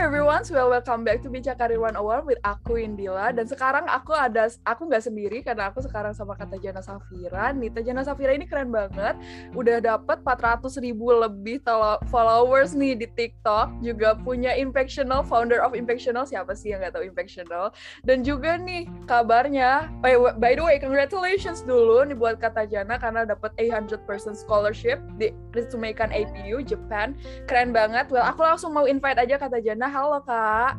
everyone, welcome back to Bincang Karir 101 with aku Indila. Dan sekarang aku nggak sendiri karena aku sekarang sama Kak Tajana Safira. Nih, Tajana Safira ini keren banget. Udah dapet 400.000 lebih followers nih di TikTok. Juga punya Impactional, founder of Impactional. Siapa sih yang nggak tahu Impactional? Dan juga nih kabarnya, by the way, congratulations dulu nih buat Kak Tajana karena dapet 800% scholarship di Ritsumeikan APU, Japan. Keren banget. Well, aku langsung mau invite aja Kak Tajana. Halo Kak.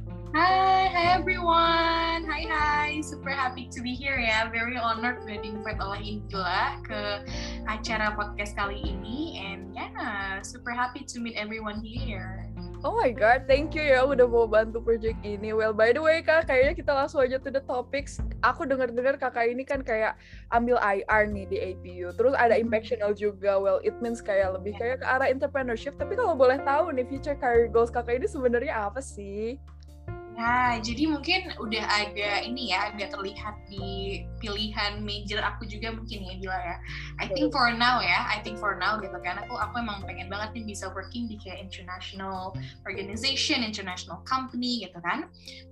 Hi everyone. Hi. Super happy to be here ya. Very honored udah di-invite oleh Indila ke acara podcast kali ini. And yeah, super happy to meet everyone here. Oh my god, thank you ya udah mau bantu project ini. Well, by the way Kak, kayaknya kita langsung aja to the topics. Aku dengar Kakak ini kan kayak ambil IR nih di APU. Terus ada Impactional juga. Well, it means kayak lebih kayak ke arah entrepreneurship. Tapi kalau boleh tahu nih, future career goals Kakak ini sebenarnya apa sih? Nah, jadi mungkin udah agak terlihat di pilihan major aku juga mungkin ya, Gila ya. I think for now gitu kan, aku emang pengen banget nih bisa working di kayak international organization, international company gitu kan.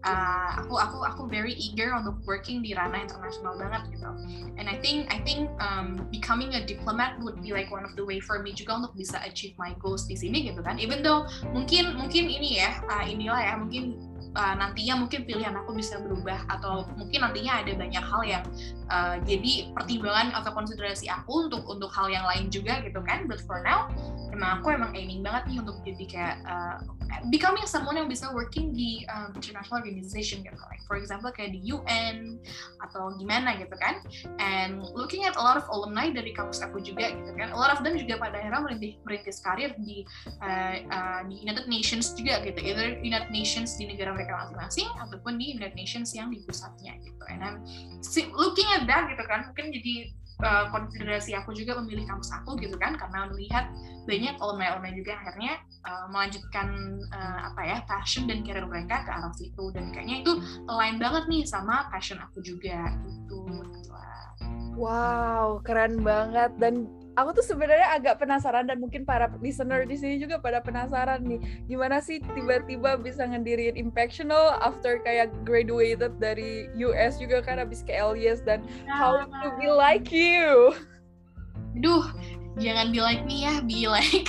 Aku very eager untuk working di ranah internasional banget gitu. And I think becoming a diplomat would be like one of the way for me juga untuk bisa achieve my goals di sini gitu kan. Even though mungkin ini ya, inilah ya, mungkin nantinya mungkin pilihan aku bisa berubah atau mungkin nantinya ada banyak hal yang jadi pertimbangan atau konsiderasi aku untuk hal yang lain juga gitu kan. But for now aku emang aiming banget nih untuk jadi kayak becoming someone yang bisa working di international organization gitu, like for example kayak di UN atau gimana gitu kan. And looking at a lot of alumni dari kampus aku juga gitu kan, a lot of them juga pada akhirnya merintis karir di United Nations juga gitu, either United Nations di negara mereka masing-masing ataupun di United Nations yang di pusatnya gitu. And I'm looking at that gitu kan, mungkin jadi konsiderasi aku juga memilih kampus aku gitu kan, karena melihat banyak alumni juga yang akhirnya melanjutkan passion dan karir mereka ke arah situ, dan kayaknya itu align banget nih sama passion aku juga gitu. Wow, keren banget. Dan aku tuh sebenarnya agak penasaran, dan mungkin para listener di sini juga pada penasaran nih, gimana sih tiba-tiba bisa ngedirin Impactional after kayak graduated dari US juga kan, habis ke LIS, dan how to be like you. Duh, jangan be like me ya, be like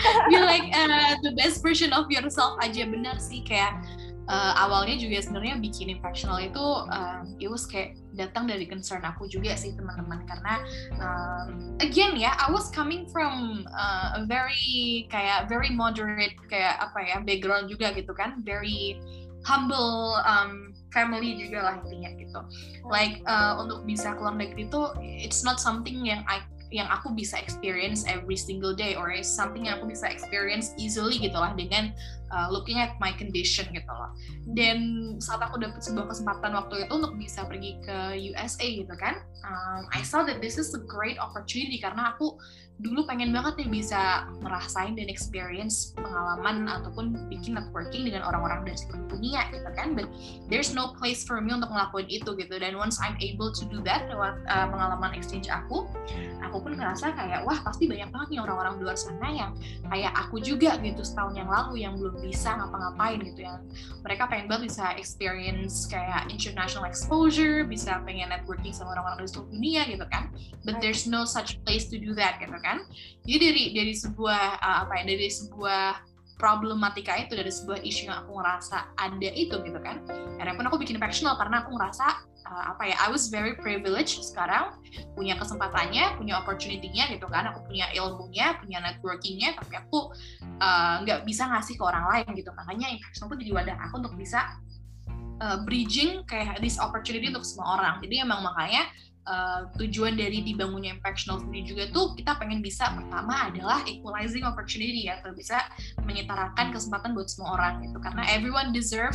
the best version of yourself aja. Benar sih, kayak awalnya juga sebenarnya bikin Impactional itu it was kayak datang dari concern aku juga sih teman-teman, karena again ya, I was coming from a very moderate kayak background juga gitu kan, very humble family juga lah intinya gitu. Like untuk bisa keluar negeri itu it's not something yang aku bisa experience every single day, or is something yang aku bisa experience easily gitu lah dengan looking at my condition gitu loh. Dan saat aku dapat sebuah kesempatan waktu itu untuk bisa pergi ke USA gitu kan, I saw that this is a great opportunity, karena aku dulu pengen banget nih bisa ngerasain dan experience pengalaman ataupun bikin networking dengan orang-orang dari seluruh dunia gitu kan. But there's no place for me untuk ngelakuin itu gitu. Dan once I'm able to do that lewat pengalaman exchange aku pun ngerasa kayak wah, pasti banyak banget nih orang-orang di luar sana yang kayak aku juga gitu setahun yang lalu, yang belum bisa ngapa-ngapain gitu, yang mereka pengen banget bisa experience kayak international exposure, bisa pengen networking sama orang-orang dari seluruh dunia gitu kan. But there's no such place to do that gitu kan. Jadi dari sebuah dari sebuah problematika itu, dari sebuah isu yang aku ngerasa ada itu gitu kan, akhirnya pun aku bikin Impactional karena aku ngerasa I was very privileged sekarang, punya kesempatannya, punya opportunity-nya gitu kan, aku punya ilmunya, punya networking-nya, tapi aku nggak bisa ngasih ke orang lain gitu. Makanya Impactional pun jadi wadah aku untuk bisa bridging kayak this opportunity untuk semua orang. Jadi emang makanya tujuan dari dibangunnya Impactional sendiri juga tuh kita pengen bisa, pertama adalah equalizing opportunity, atau bisa menyetarakan kesempatan buat semua orang gitu, karena everyone deserve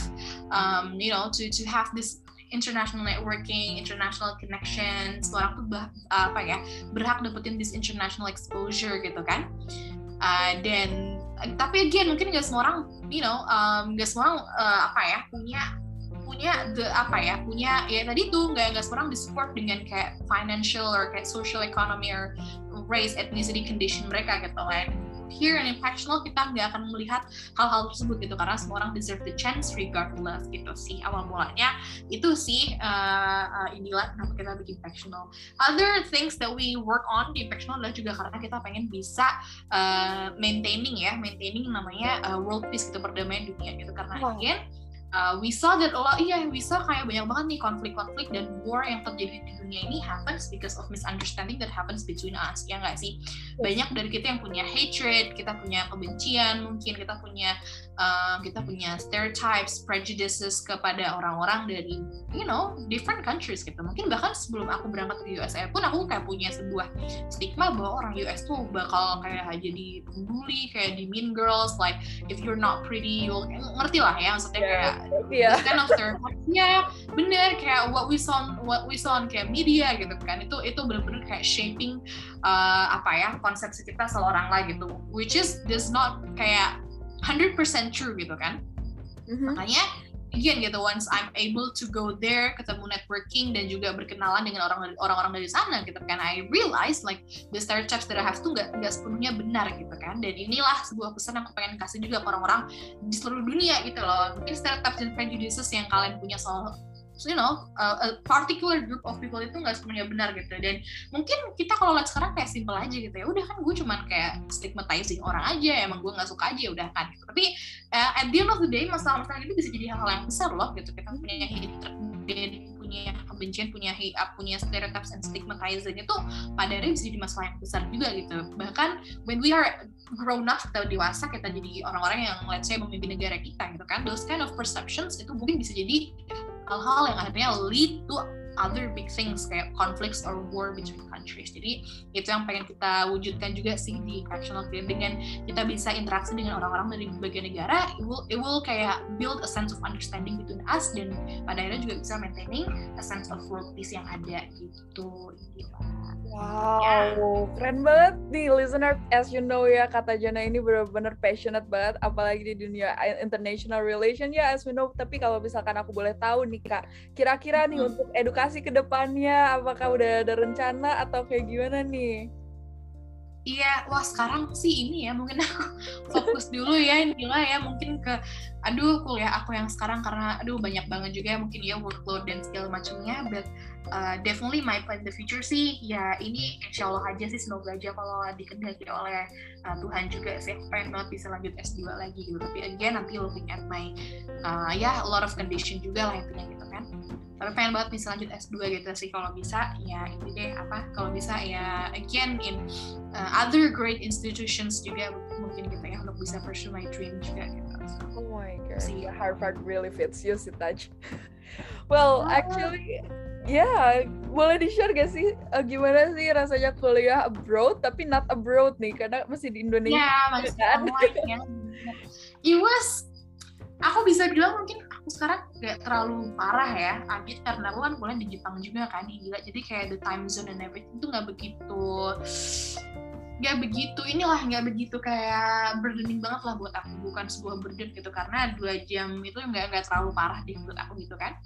to have this international networking, international connection. Semua orang tuh berhak dapetin this international exposure gitu kan. Dan tapi again mungkin nggak semua orang nggak semua orang punya tadi tuh nggak semua orang disupport dengan kayak financial or kayak social economy or race, ethnicity, condition mereka gitu kan. here in Impactional kita nggak akan melihat hal-hal tersebut gitu, karena semua orang deserve the chance regardless gitu sih awal mulanya. Itu sih inilah kenapa kita bikin Impactional. Other things that we work on di Impactional adalah juga karena kita pengen bisa maintaining namanya world peace gitu, perdamaian dunia gitu, karena again we saw that we saw kayak banyak banget nih konflik-konflik dan war yang terjadi di dunia ini happens because of misunderstanding that happens between us, ya nggak sih? Banyak dari kita yang punya hatred, kita punya kebencian, mungkin kita punya stereotypes, prejudices kepada orang-orang dari different countries gitu. Mungkin bahkan sebelum aku berangkat ke USA pun aku kayak punya sebuah stigma bahwa orang US tuh bakal kayak jadi pembuli, kayak di Mean Girls, like if you're not pretty, you'll ngerti lah ya, maksudnya kayak this kind of stereotypes. Ya bener, kayak what we saw on kayak media gitu kan, itu bener-bener kayak shaping konsepsi kita seorang lah gitu, which is does not kayak 100% true gitu kan. Makanya again gitu, once I'm able to go there, ketemu networking dan juga berkenalan dengan orang-orang dari sana gitu kan, I realize like the stereotypes that I have tuh nggak sepenuhnya benar gitu kan. Dan inilah sebuah pesan yang aku pengen kasih juga ke orang-orang di seluruh dunia gitu loh. Mungkin stereotypes dan prejudices yang kalian punya soal a particular group of people itu nggak sepenuhnya benar gitu. Dan mungkin kita kalau lihat sekarang kayak simple aja gitu ya, udah kan gue cuman kayak stigmatizing orang aja, emang gue nggak suka aja udah kan gitu. Tapi at the end of the day masalah-masalah itu bisa jadi hal-hal yang besar loh gitu. Kita punya hatred, punya kebencian, punya stereotypes and stigmatizing itu pada akhirnya bisa jadi masalah yang besar juga gitu. Bahkan when we are grown up, kita dewasa, kita jadi orang-orang yang let's say memimpin negara kita gitu kan, those kind of perceptions itu mungkin bisa jadi hal-hal yang akhirnya lead to other big things kayak conflicts or war between countries. Jadi itu yang pengen kita wujudkan juga sih di Impactional. Dengan kita bisa interaksi dengan orang-orang dari berbagai negara, it will kayak build a sense of understanding between us, dan pada akhirnya juga bisa maintaining a sense of world peace yang ada gitu. Wow, keren banget nih listener. As you know ya, Kata Jana ini benar-benar passionate banget, apalagi di dunia international relation ya, as we know. Tapi kalau misalkan aku boleh tahu nih Kak, kira-kira nih untuk edukasi ke depannya, apakah udah ada rencana atau kayak gimana nih? Iya, wah sekarang sih ini ya, mungkin aku fokus dulu ya Indila ya, mungkin ke kuliah aku yang sekarang, karena banyak banget juga mungkin ya workload dan segala macamnya, but definitely my plan in the future sih ya ini insya Allah aja sih, semoga aja kalau dikehendaki oleh Tuhan juga sih, aku pengen banget bisa lanjut S2 lagi gitu. Tapi again nanti looking at my a lot of condition juga lah intinya gitu kan. Tapi pengen banget bisa lanjut S2 gitu sih, kalau bisa ya ini deh kalau bisa ya again in other great institutions juga mungkin gitu ya, untuk bisa pursue my dream juga gitu. Oh my god, Harvard really fits you sih Taj. Well, actually boleh di-share gak sih gimana sih rasanya kuliah abroad tapi not abroad nih, karena masih di Indonesia. Masih kan? It was, aku bisa bilang mungkin aku sekarang gak terlalu parah ya, Abid, karena aku kan kuliah di Jepang juga kan, gila. Jadi kayak the time zone and everything itu gak begitu kayak burdening banget lah buat aku, bukan sebuah burden gitu, karena 2 jam itu nggak terlalu parah di menurut aku gitu kan.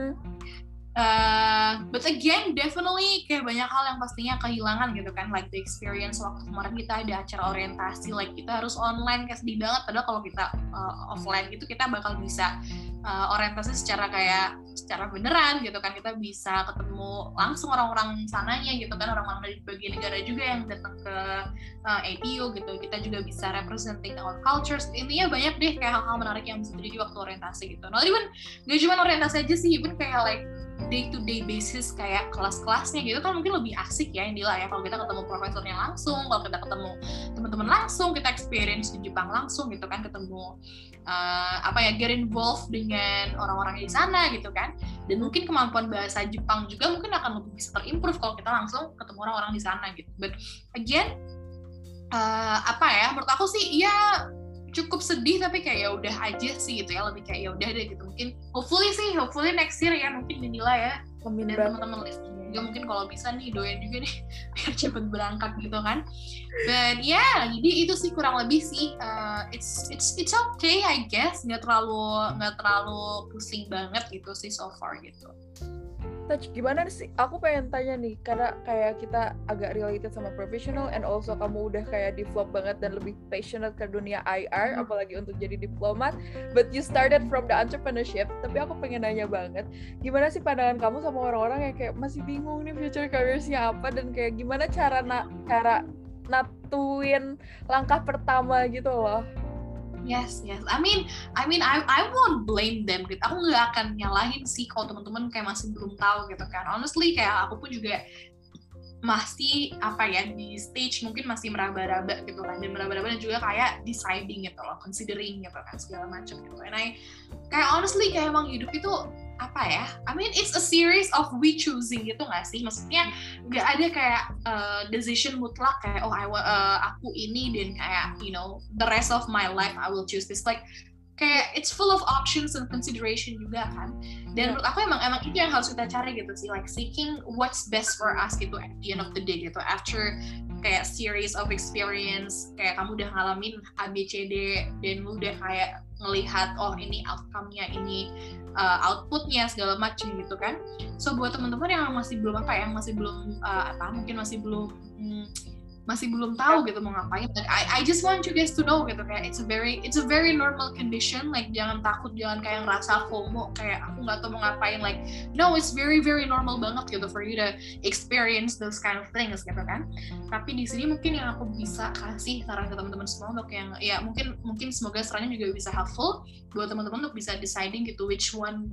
But again, definitely kayak banyak hal yang pastinya kehilangan gitu kan, like the experience waktu kemarin kita ada acara orientasi, like kita harus online, kayak sedih banget. Padahal kalau kita offline gitu kita bakal bisa orientasi secara beneran gitu kan, kita bisa ketemu langsung orang-orang sananya gitu kan, orang-orang dari berbagai negara juga yang datang ke APU gitu, kita juga bisa representing our cultures. Intinya banyak deh kayak hal-hal menarik yang bisa terjadi waktu orientasi gitu. Not even, gak cuma orientasi aja sih, even kayak like day-to-day basis kayak kelas-kelasnya gitu kan mungkin lebih asik ya Indila ya, kalau kita ketemu profesornya langsung, kalau kita ketemu teman-teman langsung, kita experience di Jepang langsung gitu kan, ketemu get involved dengan orang-orang di sana gitu kan. Dan mungkin kemampuan bahasa Jepang juga mungkin akan lebih bisa terimprove kalau kita langsung ketemu orang-orang di sana gitu. But again menurut aku sih ya cukup sedih, tapi kayak ya udah aja sih gitu ya, lebih kayak ya udah deh gitu. Mungkin hopefully next year ya, mungkin Indila ya dan teman-teman listening juga mungkin kalau bisa nih doain juga nih biar cepet berangkat gitu kan. But jadi itu sih kurang lebih sih it's okay I guess, nggak terlalu pusing banget gitu sih so far gitu. Touch, gimana sih? Aku pengen tanya nih, karena kayak kita agak related sama professional, and also kamu udah kayak develop banget dan lebih passionate ke dunia IR, apalagi untuk jadi diplomat. But you started from the entrepreneurship. Tapi aku pengen nanya banget, gimana sih pandangan kamu sama orang-orang yang kayak masih bingung nih future careers-nya apa, dan kayak gimana cara natuin langkah pertama gitu loh? Yes. I mean, I won't blame them gitu. Aku nggak akan nyalahin sih kalau teman-teman kayak masih belum tahu gitu kan. Honestly, kayak aku pun juga masih di stage mungkin masih meraba-raba gitu kan, dan meraba-raba dan juga kayak deciding gitu loh, considering gitu kan segala macam gitu. And kayak honestly kayak emang hidup itu I mean it's a series of we choosing gitu nggak sih? Maksudnya nggak ada kayak decision mutlak kayak aku ini dan kayak the rest of my life I will choose this, like kayak it's full of options and consideration juga kan. Dan menurut aku emang itu yang harus kita cari gitu sih, like seeking what's best for us gitu at the end of the day gitu, after kayak series of experience, kayak kamu udah ngalamin ABCD dan lu udah kayak ngelihat ini outcome-nya, ini output-nya segala macam gitu kan. So buat teman-teman yang masih belum mungkin masih belum tahu gitu mau ngapain, like I just want you guys to know gitu, kayak it's a very normal condition, like jangan takut, jangan kayak ngerasa FOMO kayak aku nggak tahu mau ngapain, like no, it's very very normal banget gitu for you to experience those kind of things gitu kan. Tapi di sini mungkin yang aku bisa kasih saran ke teman-teman semua untuk yang ya mungkin semoga sarannya juga bisa helpful buat teman-teman untuk bisa deciding gitu which one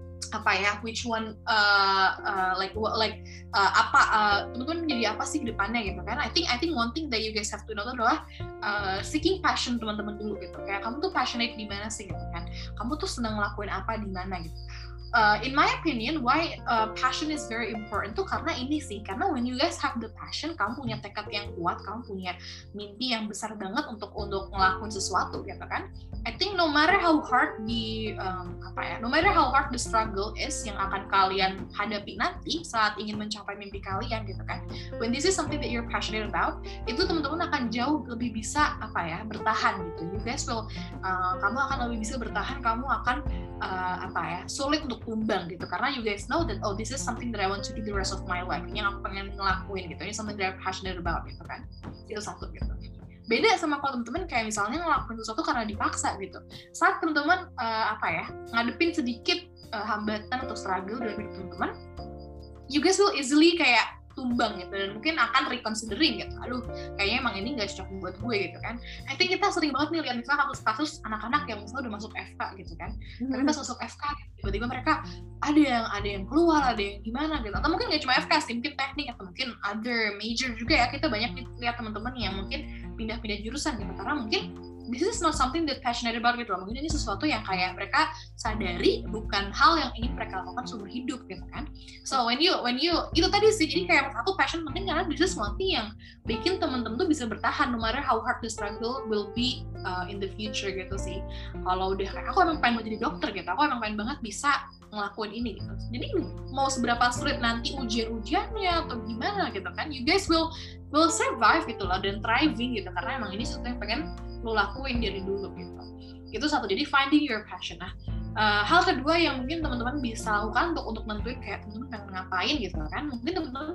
teman-teman menjadi apa sih ke depannya gitu kan. I think one thing that you guys have to know adalah seeking passion teman-teman dulu gitu, kayak kamu tuh passionate di mana sih gitu kan, kamu tuh senang ngelakuin apa di mana gitu. In my opinion, why passion is very important tuh karena when you guys have the passion, kamu punya tekad yang kuat, kamu punya mimpi yang besar banget untuk ngelakuin sesuatu gitu kan. I think no matter how hard the struggle is yang akan kalian hadapi nanti saat ingin mencapai mimpi kalian gitu kan, when this is something that you're passionate about, itu teman-teman akan jauh lebih bisa bertahan gitu. You guys will kamu akan lebih bisa bertahan, kamu akan sulit untuk tumbang gitu, karena you guys know that this is something that I want to do the rest of my life, yang aku pengen ngelakuin gitu, ini something that I'm passionate about gitu kan. Itu satu gitu. Beda sama kalau teman-teman kayak misalnya ngelakuin sesuatu karena dipaksa gitu. Saat teman-teman ngadepin sedikit hambatan atau struggle dalam hidup teman-teman, you guys will easily kayak tumbang gitu, dan mungkin akan reconsidering gitu, aduh kayaknya emang ini nggak cocok buat gue gitu kan. I think kita sering banget nih lihat misalnya kasus anak-anak yang misalnya udah masuk FK gitu kan, tapi pas masuk FK tiba-tiba mereka ada yang keluar, ada yang gimana gitu, atau mungkin nggak cuma FK sih, mungkin teknik atau mungkin other major juga ya. Kita banyak lihat teman-teman yang mungkin pindah-pindah jurusan gitu, karena mungkin this is not something that passionate about gitu loh. Mungkin ini sesuatu yang kayak mereka sadari bukan hal yang ingin mereka lakukan seumur hidup gitu kan. So when you itu tadi sih, jadi kayak menurut aku passion penting karena this is one thing yang bikin teman-teman tuh bisa bertahan no matter how hard the struggle will be in the future gitu sih. Kalau udah kayak aku emang pengen mau jadi dokter gitu, aku emang pengen banget bisa ngelakuin ini gitu. Jadi mau seberapa sulit nanti ujian-ujiannya atau gimana gitu kan, you guys will survive gitu loh, dan thriving gitu, karena emang ini sesuatu yang pengen lo lakuin dari dulu gitu. Itu satu, jadi finding your passion. Nah, hal kedua yang mungkin teman-teman bisa lakukan untuk nentuin kayak teman-teman pengen ngapain gitu kan, mungkin teman-teman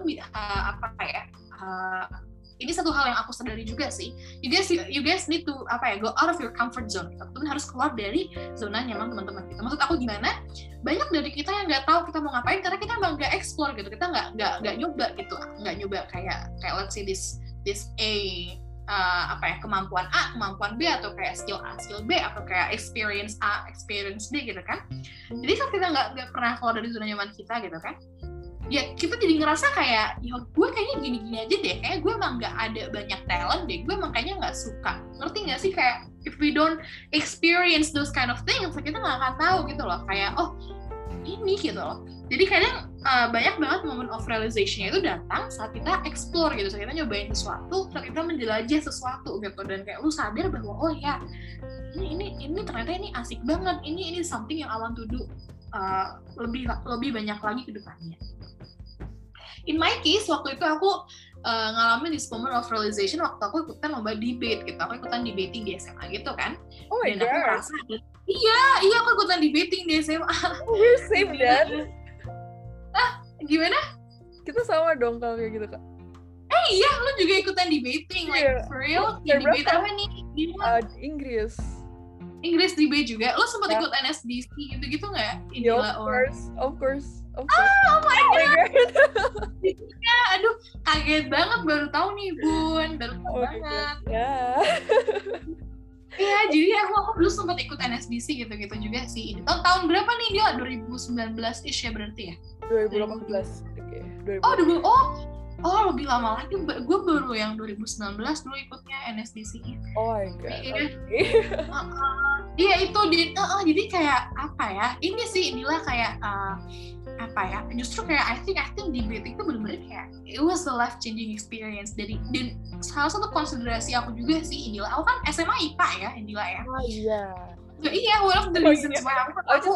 ini satu hal yang aku sadari juga sih, you guys need to go out of your comfort zone gitu. Teman harus keluar dari zona nyaman teman-teman gitu. Maksud aku gimana? Banyak dari kita yang nggak tahu kita mau ngapain karena kita emang nggak explore gitu, kita nggak nyoba gitu, nggak nyoba kayak let's say this kemampuan A, kemampuan B, atau kayak skill A, skill B, atau kayak experience A, experience B gitu kan. Jadi saat kita nggak pernah keluar dari zona nyaman kita gitu kan, ya kita jadi ngerasa kayak, ya gue kayaknya gini-gini aja deh, kayak gue emang nggak ada banyak talent deh, gue emang kayaknya nggak suka. Ngerti nggak sih, kayak if we don't experience those kind of things, kita nggak akan tahu gitu loh, kayak ini gitu loh. Jadi kadang banyak banget moment of realization-nya itu datang saat kita explore gitu, saat kita nyobain sesuatu, saat kita menjelajah sesuatu gitu, dan kayak lu sadar bahwa oh ya ini ternyata ini asik banget, ini something yang I want to do lebih banyak lagi ke depannya. In my case, waktu itu aku ngalamin this moment of realization waktu aku ikutan lomba debate gitu. Aku ikutan debating di SMA gitu kan. Oh my God. Aku merasa, iya aku ikutan debating di SMA. We're same then. Gimana? Kita sama dong kalau kayak gitu, Kak. Iya, lu juga ikutan debating, like for real? Debate apa nih? Inggris. Inggris debate juga. Lu sempat ikut NSDC gitu-gitu nggak? Of course. Oh my god. Ya, aduh, kaget banget baru tahu nih, Bun. Baru tahu banget. Iya, jadi aku dulu sempat ikut NSDC gitu-gitu juga sih. Tahun berapa nih dia? 2019-ish ya berarti ya? 2018. Oh, lebih lama lagi. Gue baru yang 2019 dulu ikutnya NSDC. Oh my god. Iya itu jadi kayak apa ya? Inilah kayak apa ya? Justru kayak I think debate itu benar-benar kayak it was a life changing experience. Dan salah satu konsiderasi aku juga sih Indila. Aku kan SMA IPA ya Indila ya. Oh iya. Iya, one of the reasons why aku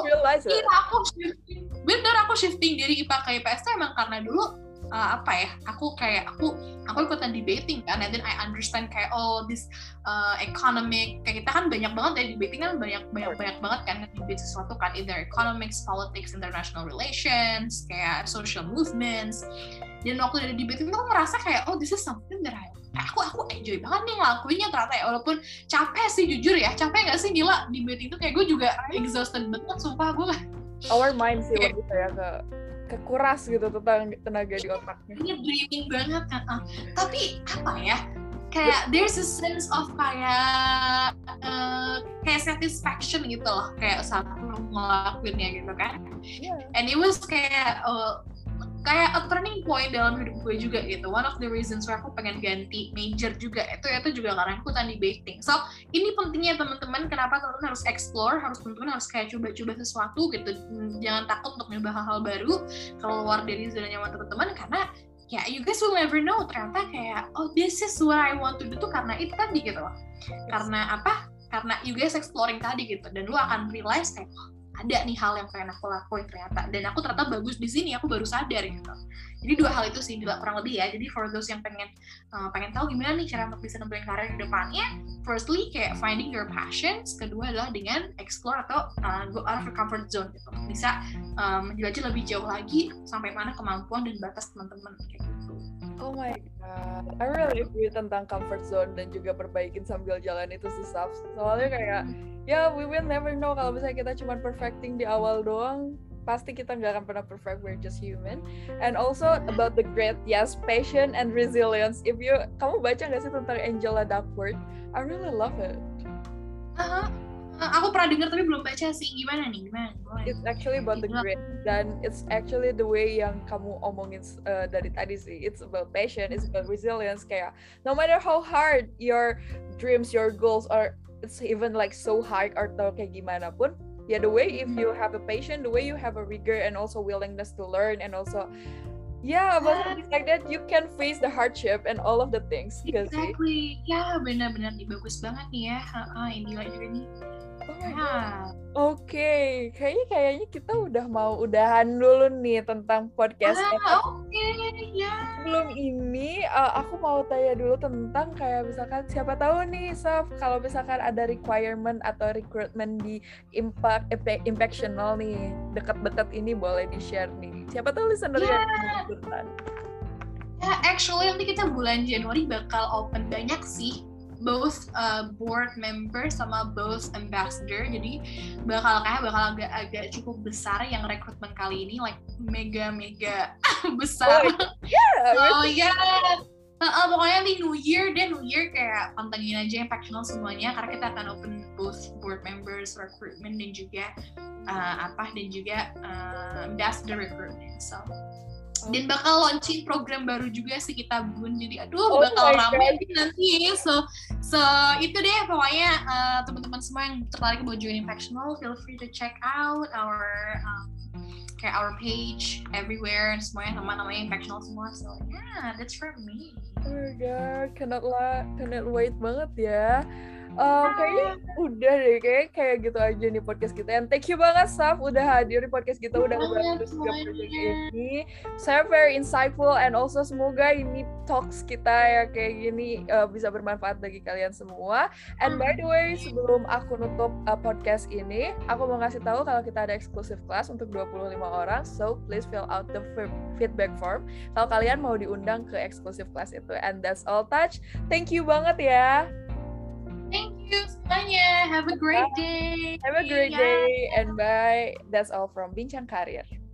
shifting dari IPA ke IPS itu emang karena dulu aku ikutan debating kan, and then I understand kayak this economic, kayak kita kan banyak banget dari debating kan banyak banget kan debate sesuatu kan, either economics, politics, international relations, kayak social movements. Dan waktu dari debating tuh aku merasa kayak this is something that aku enjoy banget nih ngelakuinnya ternyata ya, walaupun capek sih jujur ya, capek nggak sih Nila debating itu kayak gue juga exhausted banget sumpah gue. Our mind sih lebih kayak kekuras gitu tentang tenaga di otaknya. Ini draining banget kan. Tapi apa ya? Kayak there's a sense of kayak satisfaction gitu loh, kayak saat ngelakuinnya gitu kan. Yeah. And it was kayak a turning point dalam hidup gue juga gitu. One of the reasons why aku pengen ganti major juga itu juga karena aku ikutan debating. So ini pentingnya teman-teman, kenapa teman-teman harus explore, teman-teman harus kayak coba-coba sesuatu gitu. Jangan takut untuk nyoba hal-hal baru, keluar dari zona nyaman teman-teman, karena ya you guys will never know ternyata kayak this is what I want to do tuh karena itu tadi gitu loh. Karena apa? Karena you guys exploring tadi gitu, dan lu akan realize kayak ada nih hal yang pengen aku lakuin ternyata, dan aku ternyata bagus di sini, aku baru sadar gitu. Jadi dua hal itu sih kurang lebih ya. Jadi for those yang pengen tahu gimana nih cara untuk bisa nempuhin karir ke depannya, firstly kayak finding your passions, kedua adalah dengan explore atau go out of your comfort zone gitu. Bisa menjelajah lebih jauh lagi sampai mana kemampuan dan batas teman-teman kayak gitu. Oh my god, I really agree tentang comfort zone dan juga perbaikin sambil jalan itu sih, Saf. Soalnya kayak we will never know kalau misalnya kita cuma perfecting di awal doang, pasti kita nggak akan pernah perfect, we're just human. And also about the great passion and resilience. Kamu baca nggak sih tentang Angela Duckworth? I really love it. Aku pernah dengar tapi belum baca sih. Gimana nih? It's actually about the grit, dan it's actually the way yang kamu omongin dari tadi sih. It's about passion, it's about resilience. Kayak no matter how hard your dreams, your goals are, it's even like so hard atau kayak gimana pun, the way if you have a passion, the way you have a rigor and also willingness to learn, and also about things like that, you can face the hardship and all of the things. Exactly. Ya, benar-benar nih, bagus banget nih ya. Indila juga nih. Oke, kayaknya kita udah mau udahan dulu nih tentang podcast. Sebelum ini aku mau tanya dulu tentang kayak misalkan siapa tahu nih, Saf, kalau misalkan ada requirement atau recruitment di Impactional nih dekat-dekat ini, boleh di-share nih. Siapa tahu listener yang ikutan. Actually nanti kita bulan Januari bakal open banyak sih, both board member sama both ambassador. Jadi bakal agak cukup besar yang rekrutmen kali ini, like mega besar. Pokoknya di New Year kayak pantengin aja Impactional semuanya, karena kita akan open both board members recruitment dan juga ambassador recruitment. Dan bakal launching program baru juga sih kita, Bun. Jadi bakal ramai nanti. So itu deh pokoknya, teman-teman semua yang tertarik buat join Impactional, feel free to check out our page everywhere, and semuanya namanya Impactional semua. So that's for me. Oh my god, cannot wait banget ya. Kayaknya udah deh, kayak gitu aja nih podcast kita. And thank you banget Saf udah hadir di podcast kita, udah ngebantu juga project ini. Saya very insightful and also semoga ini talks kita ya kayak gini bisa bermanfaat bagi kalian semua. And by the way, sebelum aku nutup podcast ini, aku mau ngasih tahu kalau kita ada exclusive class untuk 25 orang. So please fill out the feedback form kalau kalian mau diundang ke exclusive class itu. And that's all Touch. Thank you banget ya. Thank you semuanya. Have a great day. Have a great day and bye. That's all from Bincang Karir.